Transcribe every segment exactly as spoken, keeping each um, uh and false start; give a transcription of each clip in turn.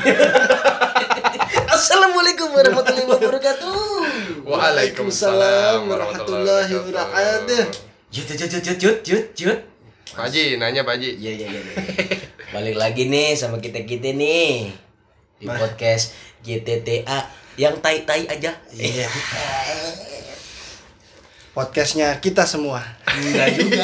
Assalamualaikum warahmatullahi wabarakatuh. Waalaikumsalam warahmatullahi wabarakatuh. Jut jut jut jut jut jut jut. Pak Haji, nanya Pak Haji. Iya iya iya. Balik lagi nih sama kita-kita nih di Bah. podcast G T T A yang tai-tai aja. Iya. Podcastnya kita semua. Enggak juga.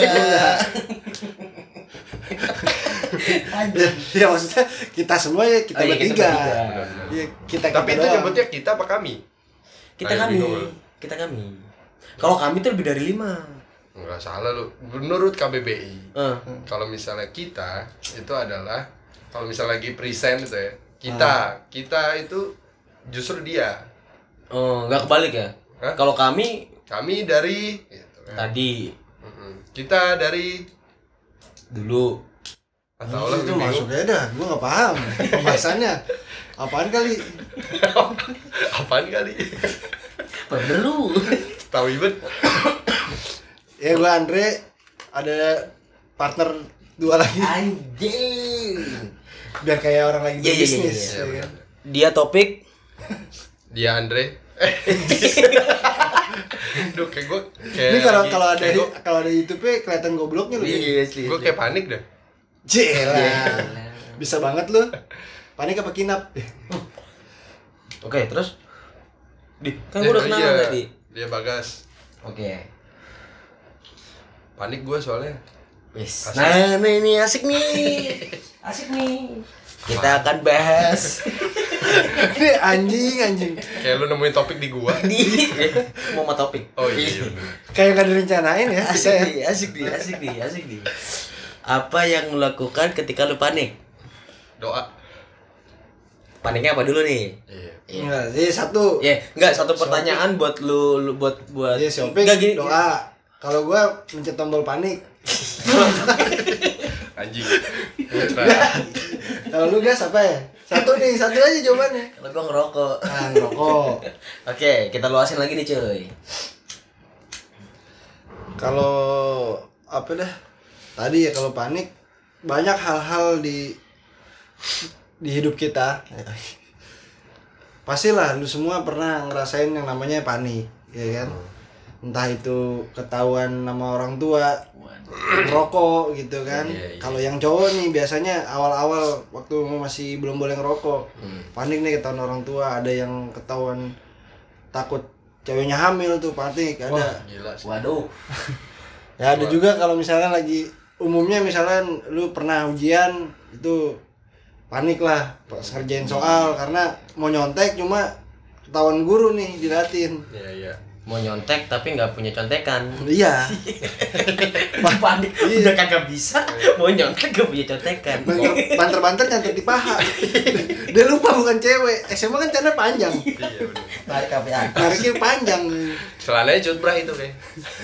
ya, ya maksudnya kita semua ya kita Oh, iya, kita bertiga. bertiga. Ya, kita Tapi kita itu doang. nyebutnya kita apa kami? Kita Kayak kami. bingung lu. Kita kami. Kalau kami tuh lebih dari lima. Enggak salah lu. Menurut K B B I, Eh. kalau misalnya kita itu adalah kalau misalnya lagi present itu ya. Kita, kita itu justru dia. Oh, enggak kebalik ya? Hah? Kalau kami Kami dari gitu kan. tadi Mm-mm. Kita dari dulu atau Oh, lah itu bingung. masuknya dah, gua nggak paham pembahasannya. Apaan kali? Apaan kali? perlu. Tahu ibet. Ya gua Andre, ada partner dua lagi Anjing. biar kayak orang lagi Iya, iya, iya, bisnis. iya, ya iya. kan? Dia topik Dia Andre. Duh, kayak gue kayak Ini kalau lagi- kalau ada kayak gua- kalau ada YouTube-nya kelihatan gobloknya lu. Iya, asli. gue kayak panik dah. Jelah. Bisa banget lu. Panik apa kinap? Oke, terus di kan gua udah Eh, kenalan iya. tadi. Dia Bagas. Oke. Panik gue soalnya. Wis. Asik. Nah, nah, ini asik nih. Asik nih. Kita akan bahas Ini anjing anjing. Kayak lu nemuin topik di gua. di mau sama topik. Oh iya. bener. Kayak gak direncanain ya kita Asik ya. nih, asik nih, asik nih, asik nih. Apa yang lu lakukan ketika lu panik? Doa. Paniknya apa dulu nih? Iya. Enggak, jadi satu. Ya, enggak satu Si pertanyaan buat lu, lu buat buat Iya, si Opik Enggak gini. doa. Kalau gua mencet tombol panik. Anjing. Kalau lu guys apa ya? Satu nih, satu aja jawabannya. Kalau gua ngerokok. Ah, ngerokok. Oke, kita luasin lagi nih, cuy. Kalau apa dah? Tadi ya kalau panik banyak hal-hal di di hidup kita. Pastilah lu semua pernah ngerasain yang namanya panik, ya kan? Entah itu ketahuan sama orang tua, ngerokok gitu kan. Iya, iya. Kalau yang cowok nih biasanya awal-awal waktu masih belum boleh ngerokok, Hmm. panik nih ketahuan orang tua, ada yang ketahuan takut ceweknya hamil tuh panik, ada. Wah, gila sih. Waduh. Ya ada juga kalau misalkan lagi umumnya misalkan lu pernah ujian itu panik lah pas ngerjain soal karena mau nyontek cuma ketahuan guru nih dilatin. Iya, iya. Mau nyontek tapi nggak punya contekan. Iya. Panik. Iya. Udah kagak bisa. Mau nyontek gak punya contekan. Banter- Banter-banter nyantet di paha. Dia lupa bukan cewek. S M A kan celana panjang. Iya, bener. Tarik kafe atas. Nariknya panjang. Celananya cut bra itu kayak.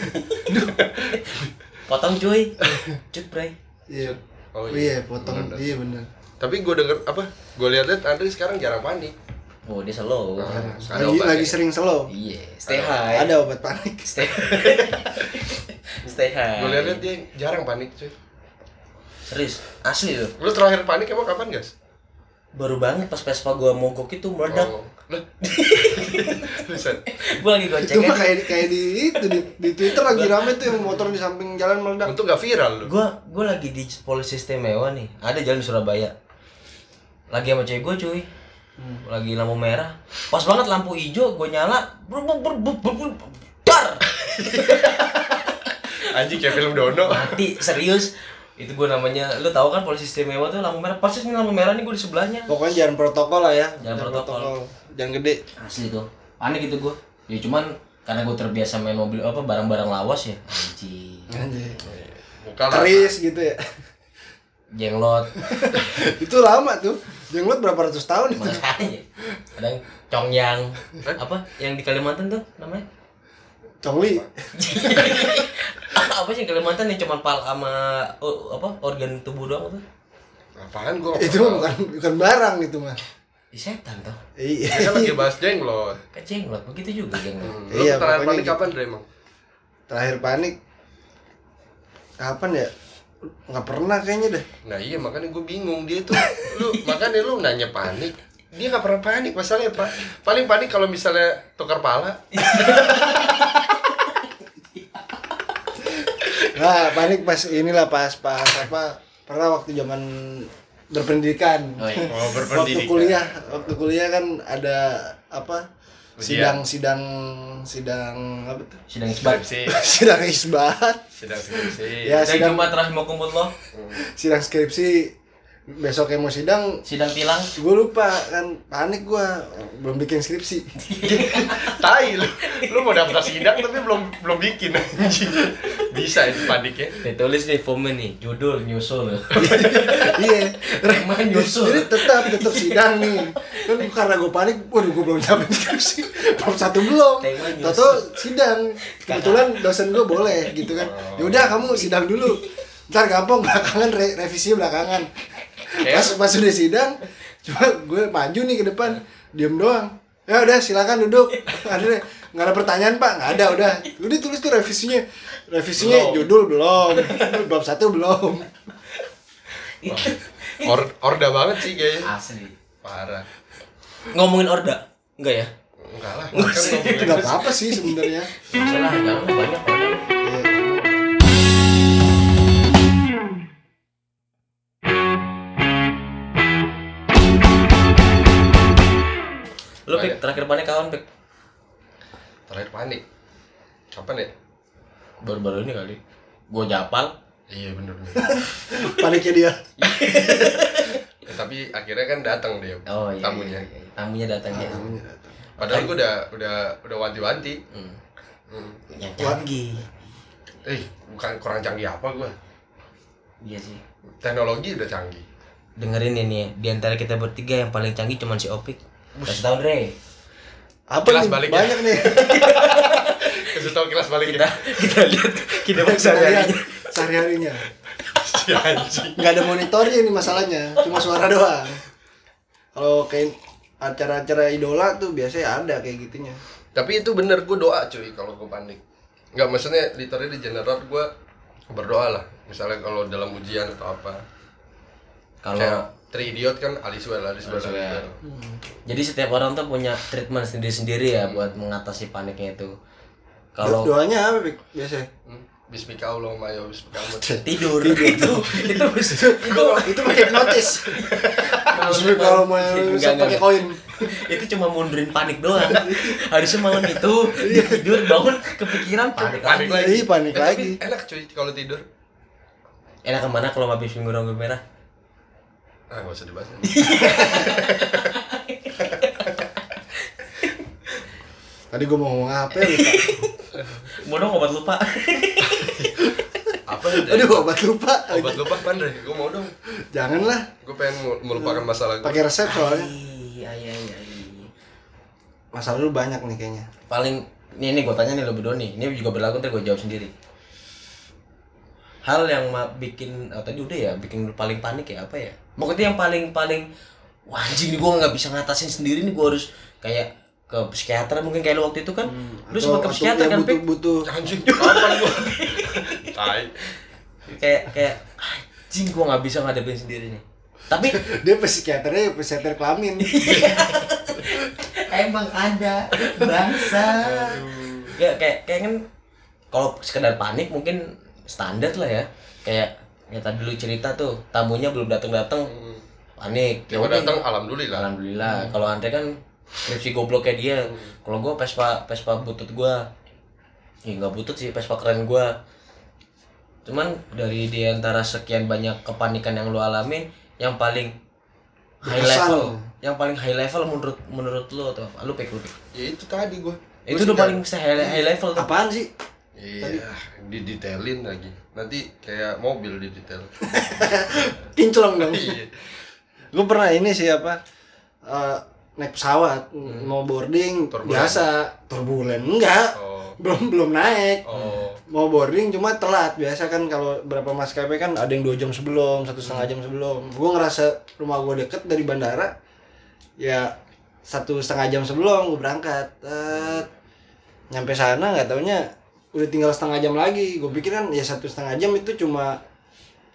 Potong cuy. Cut bray. Iya. Oh, Oh iya. iya, potong. Bener, Iya benar. Tapi gue denger apa? Gue lihat-lihat Andre sekarang jarang panik. Oh, dia slow. Nah, ada Lagi obatnya. lagi sering slow. Iya, stay Ada- high. Ada obat panik. Stay. Stay high. Gue lihat-lihat dia jarang panik, cuy. Serius, asli loh. Lu terakhir panik emang kapan, guys? Baru banget pas Vespa gua mogok itu meledak. Oh. Lah. Buset. Gua lagi Itu goceng. mah kayak kayak di itu di, di Twitter lagi rame tuh yang motor di samping jalan meledak. Untung gak viral lu. Gua gua lagi di polisi istimewa nih. Ada jalan di Surabaya. Lagi sama cewek gua, cuy. Lagi lampu merah. Pas banget lampu hijau gua nyala. Ber ber ber ber ber- ber- dar. Anjing kayak film Dono. Mati, serius. Itu gua namanya, lu tahu kan polisi istimewa tuh lampu merah. Persis nih lampu merah nih gua di sebelahnya. Pokoknya jangan protokol lah ya. Jangan protokol. Jangan gede. Asli tuh. Panik gitu gua. Ya cuman karena gua terbiasa main mobil apa barang-barang lawas ya. Anjing. Anjir. Bukan Keris gitu ya. Jenglot. Itu lama tuh. Jenglot berapa ratus tahun itu. Makanya. Kadang congyang. Apa yang di Kalimantan tuh namanya? Congli. Apa sih Kalimantan yang cuma pal sama oh, apa organ tubuh doang tuh? Apaan gua? Itu mah bukan bukan barang itu mah. Di setan tuh. Iya. Kita kan lagi bahas jenglot. Kan jenglot begitu juga jenglot. Hmm. Lu Iya, terakhir pokoknya panik gitu. kapan, Dre, emang? Terakhir panik kapan ya? nggak pernah kayaknya deh. Nah iya makanya gue bingung dia tuh, lu makanya lu nanya panik, dia nggak pernah panik masalahnya pak. Paling panik kalau misalnya tukar pala. Nah panik pas inilah pas pas apa pernah waktu zaman berpendidikan. Oh, iya. Oh, Waktu berpendidikan. kuliah, waktu kuliah kan ada apa? Ujian. Sidang sidang sidang apa tuh? Sidang isbat. Skripsi, Sidang isbat. sidang skripsi. Ya, Sidang sidang Jumat rahimakumullah. sidang skripsi besoknya mau sidang. Sidang tilang. Gue lupa kan panik gue belum bikin skripsi. Tai lu, lu mau daftar sidang tapi belum belum bikin anjing. Bisa itu paniknya. Ditulis nih formnya nih, judul nyusul. Iya. Tema nyusul. Jadi tetap tetap sidang nih. Kan karena gue panik, waduh gue belum nyiapin skripsi. Bab satu belum. Tema nyusul. Toto sidang. Kebetulan dosen gue boleh gitu kan. Ya udah kamu sidang dulu. Ntar gampang belakangan re revisi belakangan. Pas pas udah sidang, cuma gue maju nih ke depan, diem doang. Ya udah silakan duduk. Ada nggak ada pertanyaan pak? Nggak ada udah. Udah tulis tuh revisinya. Revisinya Belum. judul belum, bab satu belum. Or, orda banget sih kayaknya. Asli. Parah. Ngomongin orda? Enggak ya? Enggak lah. Kan ngomongin Nggak apa-apa sih sebenarnya. Salah, jangan banyak orda. Lu Pik, terakhir panik kawan Pik? terakhir panik. Kapan ya? Baru-baru ini kali. Gua japal. Iya bener bener. Paniknya dia. Ya, tapi akhirnya kan datang dia. Oh iya. Tamunya. Iya, iya. Tamunya datang ya. Tamunya datang. Padahal gue udah udah udah wanti-wanti. Hmm. Hmm. Yang canggih. Eh, bukan kurang canggih apa gua? Iya sih. Teknologi udah canggih. Dengerin ini ya, di antara kita bertiga yang paling canggih cuman si Opik. Kasih tau Dre. Apa Kelas nih? baliknya. Banyak nih. Kasih tau kelas balik Kita kita lihat kita Kita sehari-harinya. lihat sehari-harinya. si anjing. Nggak ada monitornya ini masalahnya, cuma suara doang. Kalau kayak acara-acara idola tuh biasanya ada kayak gitunya. Tapi itu bener, gue doa cuy kalau gue panik. Nggak, maksudnya literally di general gue berdoa lah. Misalnya kalau dalam ujian atau apa. Kalau Kayak Three Idiot kan Aliswell, Aliswell, Aliswell. Aliswell. jadi setiap orang tuh punya treatment sendiri-sendiri ya buat mengatasi paniknya itu. Kalau Kalau doanya apa Pik, biasanya? Hmm? Bismika Allahumma ya bismika Allahumma. tidur itu itu itu Itu itu pakai hipnotis. Maksudnya kalau mau Enggak, bisa enggak, pakai enggak. koin. itu cuma mundurin panik doang. Harusnya malam itu dia tidur bangun kepikiran panik, Panik lagi. lagi. Iya, panik Eh, tapi lagi. enak cuy kalau tidur. Enak kemana kalau habis minggu rambut merah? Ah, nggak usah dibahas. Tadi gue mau ngomong apa ya? Lupa. Mau dong obat lupa. Apa ya? Aduh, obat lupa. Obat lupa kan Dre? Gue mau dong. Janganlah. Gue pengen mel- melupakan masalah gue. Pakai resep soalnya. Iya iya iya. Masalah lu banyak nih kayaknya. Paling ini nih gue tanya nih lo berdua nih. Ini juga berlaku ntar gue jawab sendiri. Hal yang ma- bikin oh, tadi udah ya bikin lu paling panik ya apa ya? Pokoknya yang paling paling wah anjing nih gue nggak bisa ngatasin sendiri nih, gue harus kayak ke psikiater mungkin kayak lu waktu itu kan. Lu sempat ke psikiater kan, Pik? butuh, butuh. Anjing, kapan gue? Tai. Kayak kayak anjing gue nggak bisa ngadepin sendiri nih. Tapi Dia psikiaternya psikiater kelamin. emang ada bangsa. Ya kayak kayak kan kalau sekedar panik mungkin standar lah ya. Kayak ya tadi lu cerita tuh tamunya belum datang-datang panik. Dia udah. datang alhamdulillah. Alhamdulillah. Kalau Andre kan skripsi gobloknya dia. Kalau gua Vespa Vespa butut gua. Ya enggak butut sih, Vespa keren gua. Cuman dari di antara sekian banyak kepanikan yang lu alamin, yang paling high Berkesan. level, yang paling high level menurut menurut lu atau apa? Lu Pik, lu Pik. Ya itu tadi gue. Itu udah paling high, high level tuh. Apaan sih? Iya, didetailin lagi. Nanti kayak mobil didetail. Kinclong dong. Iya. Gue pernah ini sih apa? eh, naik pesawat mau boarding Turbulen. biasa turbulen enggak Oh. belum belum naik Oh. mau boarding cuma telat biasa kan kalau berapa maskapai kan ada yang dua jam sebelum satu setengah jam sebelum gue ngerasa rumah gue deket dari bandara ya satu setengah jam sebelum gue berangkat Tet. Nyampe sana nggak taunya udah tinggal setengah jam lagi gue pikir kan ya satu setengah jam itu cuma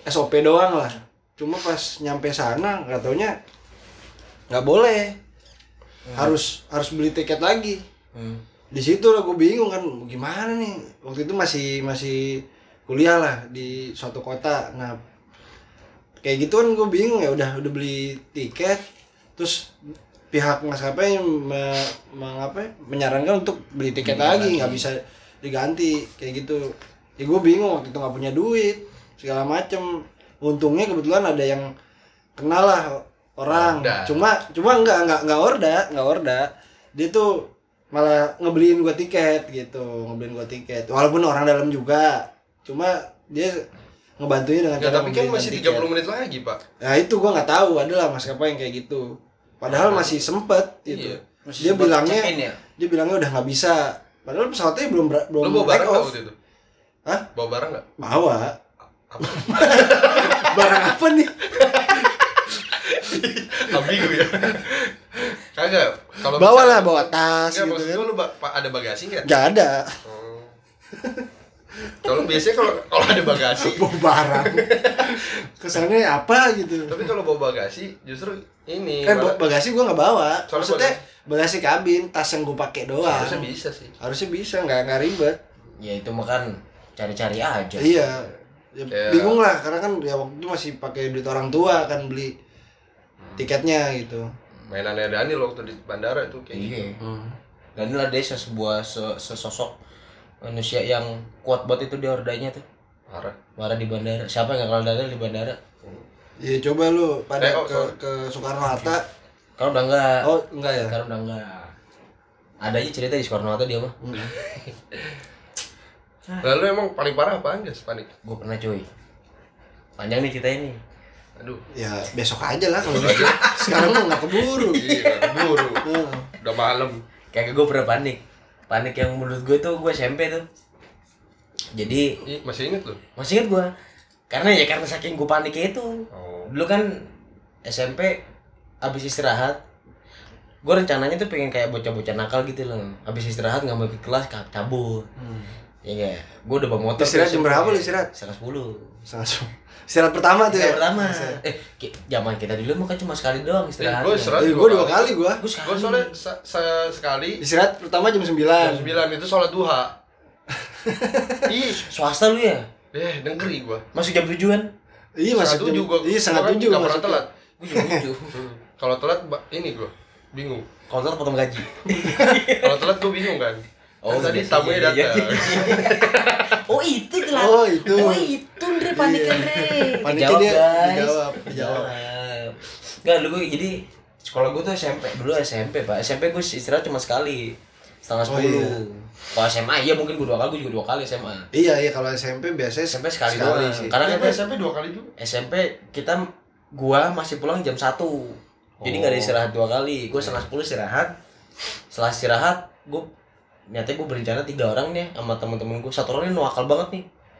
S O P doang lah. Cuma pas nyampe sana nggak taunya nggak boleh. Hmm. Harus harus beli tiket lagi. Hmm. Di situ lah gue bingung kan gimana nih. Waktu itu masih masih kuliah lah di suatu kota. Nah, kayak gitu kan gue bingung ya udah udah beli tiket terus pihak maskapai me, me, menyarankan untuk beli tiket beli lagi nggak bisa diganti kayak gitu ya gue bingung waktu itu nggak punya duit segala macem untungnya kebetulan ada yang kenal lah orang orda. cuma cuma nggak nggak nggak orda nggak orda dia tuh malah ngebeliin gue tiket gitu ngebeliin gue tiket walaupun orang dalam juga cuma dia ngebantunya dengan ya, cara tapi kan masih tiga puluh menit lagi pak nah itu gue nggak tahu adalah maskapai yang kayak gitu padahal masih sempet gitu. Iya. Masih dia sempet bilangnya ya? Dia bilangnya udah nggak bisa. Padahal pesawatnya belum belum Lo bawa barang enggak waktu itu? Hah? Bawa barang enggak? Bawa. Apa? Barang apa nih? Ambigu ya. Kagak. Kalau bawa lah bawa tas enggak, gitu kan. Lu ba- ada bagasi enggak? Enggak ada. Oh. Kalau biasanya kalau kalau ada bagasi bawa barang. Kesannya apa gitu. Tapi kalau bawa bagasi justru ini. Eh malah... bagasi gua enggak bawa. Soalnya maksudnya bagasi kabin, tas yang gua pakai doang. Harusnya bisa sih. Harusnya bisa, enggak enggak ribet. Ya itu makan cari-cari aja. Iya. Ya, yeah. Bingung lah karena kan ya waktu itu masih pakai duit orang tua kan beli tiketnya gitu. Mainannya Daniel waktu di bandara itu kayak iya. gitu. Hmm. Daniel ada sebuah sesosok manusia yang kuat banget itu di ordanya tuh. Marah. Marah di bandara. Siapa yang gak kenal Daniel di bandara? Iya coba lu pada eh, oh, ke ke Soekarno Hatta. Kalau udah enggak. Oh, enggak ya? Kalau udah enggak. Ada aja cerita di Soekarno Hatta dia mah. Hmm. Lalu emang paling parah apaan guys panik? Gue pernah cuy. Panjang nih cerita ini. Aduh. Ya besok aja lah kalau gitu. Sekarang mah nggak keburu. Iya, keburu. Udah malam. Kayak gue pernah panik. Panik yang menurut gue tuh gue S M P tuh. Jadi Ih, masih inget lu? Masih inget gue. Karena ya karena saking gue paniknya itu. Oh. Dulu kan S M P abis istirahat. Gue rencananya tuh pengen kayak bocah-bocah nakal gitu loh. Abis istirahat nggak mau ikut kelas cabut. Hmm. Ya enggak. Gue udah bawa motor. Istirahat jam berapa lu istirahat? setengah sepuluh. Setengah sepuluh. Istirahat pertama tuh ya? Istirahat pertama. Eh, zaman kita dulu mah kan cuma sekali doang istirahat. Eh, gue istirahat eh, gue dua kali gue. Gue soalnya sa- sa- sekali. Istirahat pertama jam sembilan. Jam sembilan itu sholat duha. Ih, swasta lu ya? Eh, negeri gue. Masuk jam tujuan? Iya, masuk tujuh gue. Iya, setengah tujuh. Gak pernah telat. Gue jam tujuh. Kalau telat, ini gue bingung. Kalau telat potong gaji. Kalau telat gue bingung kan. Oh, kan tadi tamunya datang. Oh, itu telat. Oh, itu. Oh, itu Andre paniknya Andre. Paniknya dia guys. dijawab, dijawab. Enggak, dulu gue jadi sekolah gue tuh S M P. Dulu S M P, Pak. S M P gue istirahat cuma sekali. Setengah sepuluh. Oh, iya. Kalau S M A iya mungkin gue dua kali, gue juga dua kali S M A. Iya, iya kalau S M P biasanya S M P sekali, sekali doang. Sih. Karena kita S M P dua kali juga. S M P kita gua masih pulang jam satu. Jadi enggak oh. ada istirahat dua kali. Gua setengah sepuluh istirahat. Setelah istirahat, gua nyatanya gua berencana tiga orang nih sama teman-teman gua. Satu orang ini nuakal banget nih.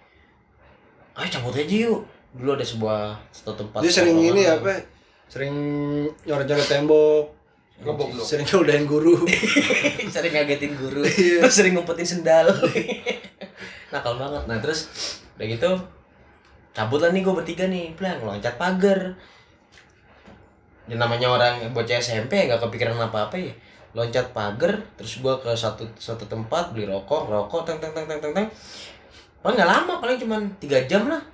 Ayo cabut aja yuk. Dulu ada sebuah satu tempat. Dia sering ini apa? Sering nyoret-nyoret tembok. Ngebok lu. Sering ngodain guru. Sering ngagetin guru. Terus sering ngumpetin sendal. Nakal banget. Nah, terus udah gitu cabut lah nih gue bertiga nih, pelan loncat pagar. Dan namanya orang bocah S M P nggak kepikiran apa-apa ya. Loncat pagar, terus gue ke satu satu tempat beli rokok, rokok, teng teng teng teng teng teng. Paling nggak lama, paling cuma tiga jam lah.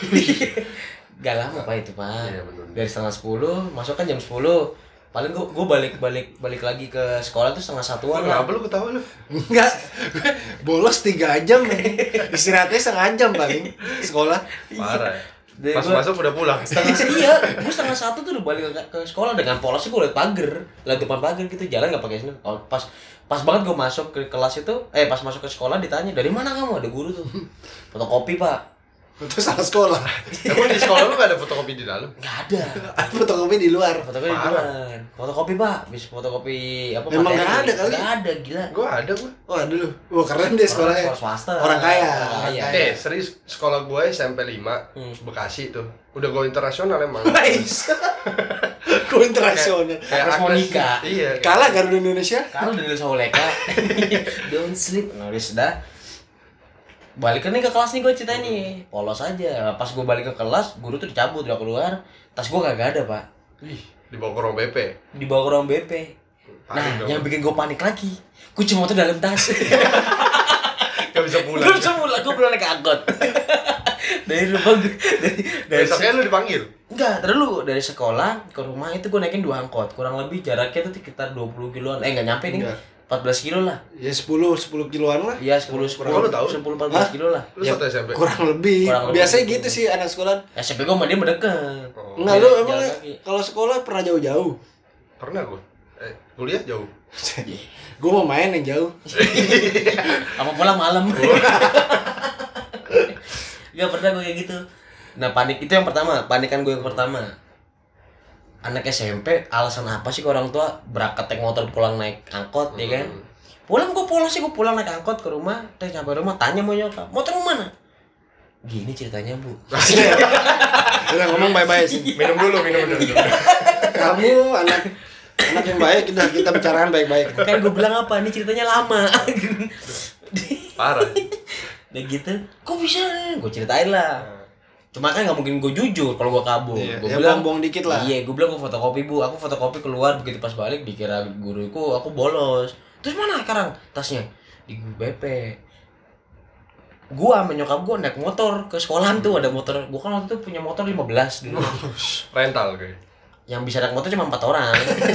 Gak lama pak itu pak. Iya, dari setengah sepuluh, masuk kan jam sepuluh. Paling gue gue balik balik balik lagi ke sekolah tuh setengah satuan lah. Kenapa lu ketawa lu? Enggak, bolos tiga jam nih. Istirahatnya setengah jam paling sekolah. Parah. Ya. Pas gua, masuk udah pulang. Setengah iya, gue setengah satu tuh udah balik ke, ke sekolah dengan polosnya gue liat pagar, liat depan pagar gitu, jalan nggak pakai sendal. Oh, pas pas banget gue masuk ke kelas itu, eh pas masuk ke sekolah ditanya dari mana kamu, ada guru tuh, fotokopi pak. Itu salah sekolah. Emang di sekolah lu gak ada fotokopi di dalam? Gak ada. Ada fotokopi di luar. Fotokopi di luar. Fotokopi pak, bisa fotokopi apa? Emang gak ada kali? Gak ada, gila. Gua ada gua. Oh ada lu. Wah keren deh sekolahnya. Sekolah swasta. Orang kaya. Orang kaya. Eh serius sekolah gue S M P lima hmm. Bekasi tuh. Udah go internasional emang. Nice. Go internasional. Kayak Monika. Iya. Kalah Garuda Indonesia. Kalah dari Soleka. Don't sleep. Nah, udah sudah. balik nih ke kelas nih gue ceritain nih, polos aja. Pas gue balik ke kelas, guru tuh dicabut, udah keluar, tas gue kagak ada pak. Ih, dibawa ke ruang B P. Dibawa ke ruang B P. Nah, Panik dong. yang bikin gue panik lagi, kunci motor dalam tas. Gak bisa pulang. Gue bisa pulang, gue pulang naik angkot. dari rumah gue, dari dari Besoknya lu dipanggil. enggak, terus dari sekolah ke rumah itu gue naikin dua angkot, kurang lebih jaraknya tuh sekitar dua puluh kiloan, eh nggak nyampe nih, Enggak. empat belas kilo lah. Ya sepuluh sepuluh kiloan lah. Iya sepuluh sepuluh Kok lu tahu? sepuluh empat belas Hah? kilo lah. Lu Ya, satu S M P. kurang lebih. Kurang lebih. Biasanya gitu sih anak sekolah. S M P gue sama dia mendekat. Oh, Enggak, Beda lu jalan emang kaki. kalau sekolah pernah jauh-jauh? pernah gua. Eh, kuliah jauh. Gue mau main yang jauh. Apa pulang malam. Gak pernah gue kayak gitu. Nah panik itu yang pertama, panikan gue yang pertama. Anak S M P alasan apa sih ke orang tua berangkat naik motor pulang naik angkot ya kan? Pulang gue polos sih, gue pulang naik angkot ke rumah, terus sampai rumah tanya mau nyokap, motor mana? Gini ceritanya bu. Udah ngomong bye-bye sih. Minum dulu, minum dulu. Kamu anak anak yang baik, kita kita bicarakan baik-baik. Kan gue bilang apa, ini ceritanya lama. Parah. Udah gitu, kok bisa? Gue ceritain lah. Cuma kan nggak mungkin gue jujur kalau gue kabur. Iya, Gue ya bilang bohong-bohong dikit lah. Iya, gue bilang gue fotokopi bu. Aku fotokopi keluar, begitu pas balik dikira guruku aku bolos. Terus mana sekarang tasnya? Di B P. Gua sama nyokap gua naik motor ke sekolahan tuh, ada motor. Gua kan waktu itu punya motor lima belas dulu. Rental kayak. Yang bisa naik motor cuma empat orang.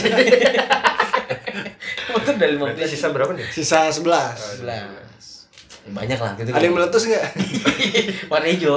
Motor dari lima Berarti belas sisa berapa nih? Sisa sebelas. sebelas. Ya, banyak lah gitu. Ada yang meletus enggak? warna hijau.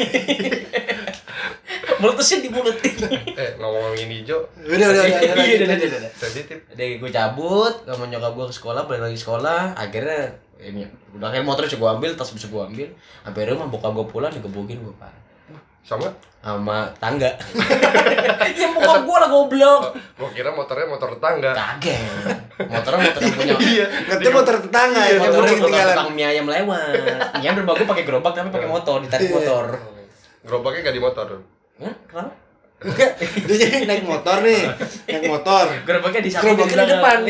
Meletusnya di mulut. Eh, ngomong-ngomongin hijau. Udah, udah, udah. Iya, udah, udah, udah. udah, udah. Sensitif. Udah gue cabut, sama nyokap gue ke sekolah, balik lagi sekolah. Akhirnya ini udah kayak motor bisa gue ambil, tas bisa gue ambil. Sampai rumah bokap gue pulang digebukin gue pak. Sama? Sama tangga. Ya bokap gue lah goblok. Gua kira motornya motor tetangga. Kaget. Motornya motor yang punya. Iya. Ngerti motor tetangga ya, Motor motor motor ketinggalan. tukang mie ayam lewat. Yang berbagi pakai gerobak tapi pakai motor, ditarik motor. Gerobaknya gak di motor. Hah? Kenapa? Enggak, dia jadi naik motor nih, naik motor. Gerobaknya di samping Gerobaknya di depan.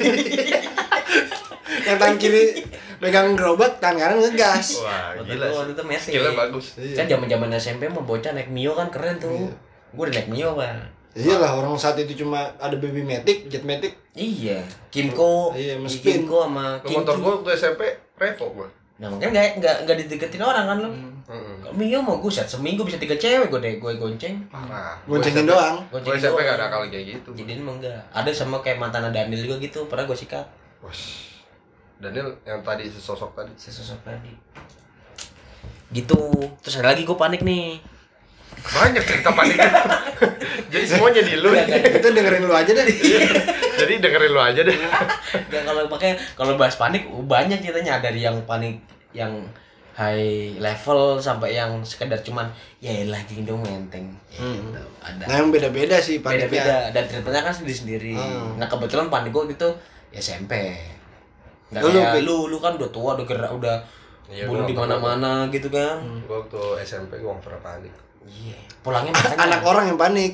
Yang tangan kiri megang gerobak, tangan kanan ngegas. Wah, Motor gila. gua sih. waktu itu metik. Skillnya bagus. Kan zaman-zaman S M P mah bocah naik Mio kan keren tuh. Gue udah naik Mio, Pak. Iyalah, orang saat itu cuma ada baby matic, jet matic. Iya, Kimco. Iya, sama Spin. Kimco sama Lu motor gua waktu S M P Revo gua. Nah, makanya enggak enggak enggak dideketin orang kan lu. Heeh. Kalau Mio mau gue set seminggu bisa tiga cewek gue deh, gue gonceng. Parah. Goncengin doang. Gua S M P gak ada kali kayak gitu. Jadi emang enggak. Ada sama kayak mantan Daniel juga gitu, pernah gue sikat. Wah. Daniel yang tadi sesosok tadi. Sesosok tadi. Gitu. Terus ada lagi gue panik nih. Banyak cerita panik. Jadi semuanya di lu. Enggak, enggak. Itu dengerin lu aja deh. Jadi dengerin lu aja deh. Enggak, kalau pakai kalau bahas panik banyak ceritanya, dari yang panik yang high level sampai yang sekedar cuman ya elah gini dong menteng. Hmm. Gitu. Ada. Nah, yang beda-beda sih paniknya. Beda-beda dan ceritanya kan sendiri-sendiri. Hmm. Nah, kebetulan panik gue gitu ya S M P. Enggak Lu, lu, kayak Pi. lu, lu kan udah tua, udah gerak, udah Iya, bunuh gua di nggak mana-mana gitu kan. Gua waktu S M P gua gak pernah panik. Iya. Pulangnya makanya. Anak orang yang panik.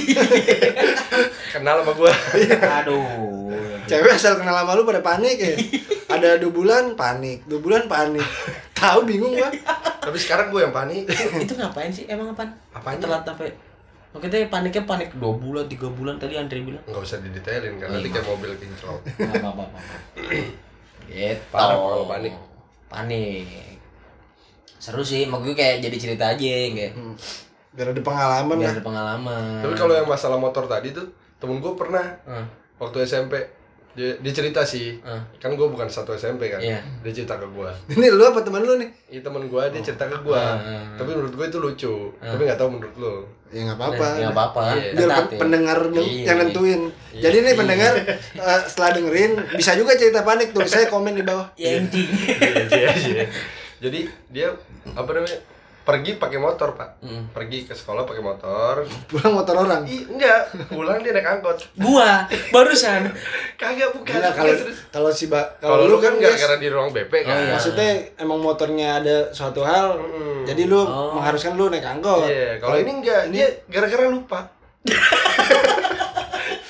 Kenal sama gua. Aduh. Cewek asal kenal sama lu pada panik ya. Ada dua bulan panik, dua bulan panik. Tahu bingung gua. Tapi sekarang gua yang panik. Itu ngapain sih? Emang apaan? Apanya? Telat sampai Makanya paniknya panik dua bulan, tiga bulan tadi Andre bilang. Enggak usah didetailin kan nanti kayak mobil kinclong. Apa apa apa. Gitu. Parah kalau panik. Panik. Seru sih, mak gue kayak jadi cerita aja kayak. Hmm. Biar ada pengalaman Biar lah. ada pengalaman. Tapi kalau yang masalah motor tadi tuh temen gua pernah Hmm. waktu S M P dia, dia cerita sih. Hmm. Kan gua bukan satu S M P kan. Iya. Dia cerita ke gua. Ini lu apa teman lu nih? Iya temen gua dia cerita ke gua. Hmm. Tapi menurut gua itu lucu. Tapi nggak tahu menurut lo. Ya nggak apa-apa. Ya enggak apa-apa. Iya. Biar Ketat pen- ya. pendengar yang- Iya. yang nentuin. Iya. Jadi nih pendengar eh, setelah dengerin bisa juga cerita panik, tulis saya komen di bawah. Ya anjing. Iya, iya, iya. Jadi dia apa namanya? Pergi pakai motor, Pak. Mm. Pergi ke sekolah pakai motor. Pulang motor orang. Ih, enggak. Pulang dia naik angkot. Gua barusan. Kagak bukan. Gila, kalau Serius. kalau si ba Kalau lu kan guys, gara-gara di ruang B P kan. Oh, iya. maksudnya emang motornya ada suatu hal, Mm. jadi lu Oh. mengharuskan lu naik angkot. Iya, kalau ini enggak, dia gara-gara lupa.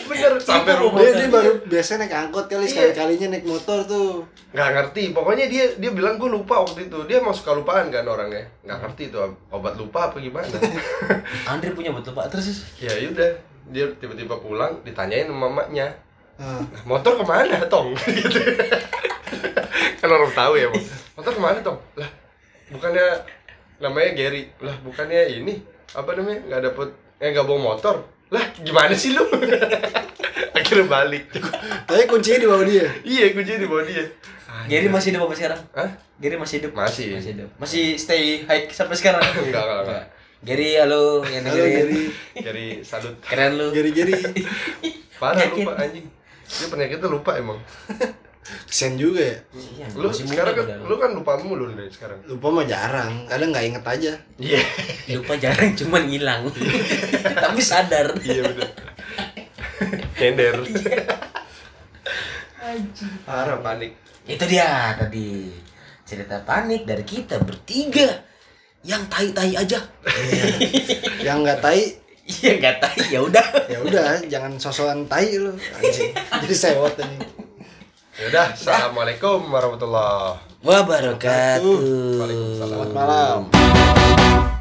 Bener sampai Tipu, rumah. Dia, dia baru biasanya naik angkot kali, Iya. sekali-kalinya naik motor tuh. Nggak ngerti, pokoknya dia dia bilang gue lupa waktu itu. Dia emang suka lupaan kan orangnya. Nggak ngerti itu obat lupa apa gimana. Andre punya betul Pak terus. Ya udah, dia tiba-tiba pulang ditanyain sama mamanya. Nah, Motor kemana Tong? Gitu. Kan orang tahu ya Bang. Motor kemana Tong? Lah bukannya namanya Gary. Lah bukannya ini apa namanya nggak dapet eh nggak bawa motor. Lah gimana sih lu? Akhirnya balik. tapi kuncinya di bawah dia. Iya kuncinya di bawah dia. Gary masih hidup apa sekarang? Hah? Gary masih hidup? Masih. Masih hidup. Masih stay high sampai sekarang? Enggak, enggak, enggak. Gary, halo yang Halo dengerin. Gary, Jadi salut. Keren lu. Gary Gary. Parah Penyakit. lupa anjing. Dia penyakitnya lupa emang. Kesian juga ya. Iya, Lu masih sekarang muda kan padahal. lu kan lupa mulu dari sekarang. Lupa mah jarang, kadang nggak inget aja. Iya. lupa jarang cuman hilang. Tapi sadar. Iya bener. Nyender. Parah panik. Itu dia tadi cerita panik dari kita bertiga yang tai-tai aja. Yang nggak tai, Iya nggak tai ya udah. ya udah, jangan sosokan tai lu. Anjing. Jadi sewot ini. Ya udah, assalamualaikum warahmatullahi Wabarakatuh. Waalaikumsalam. Selamat malam.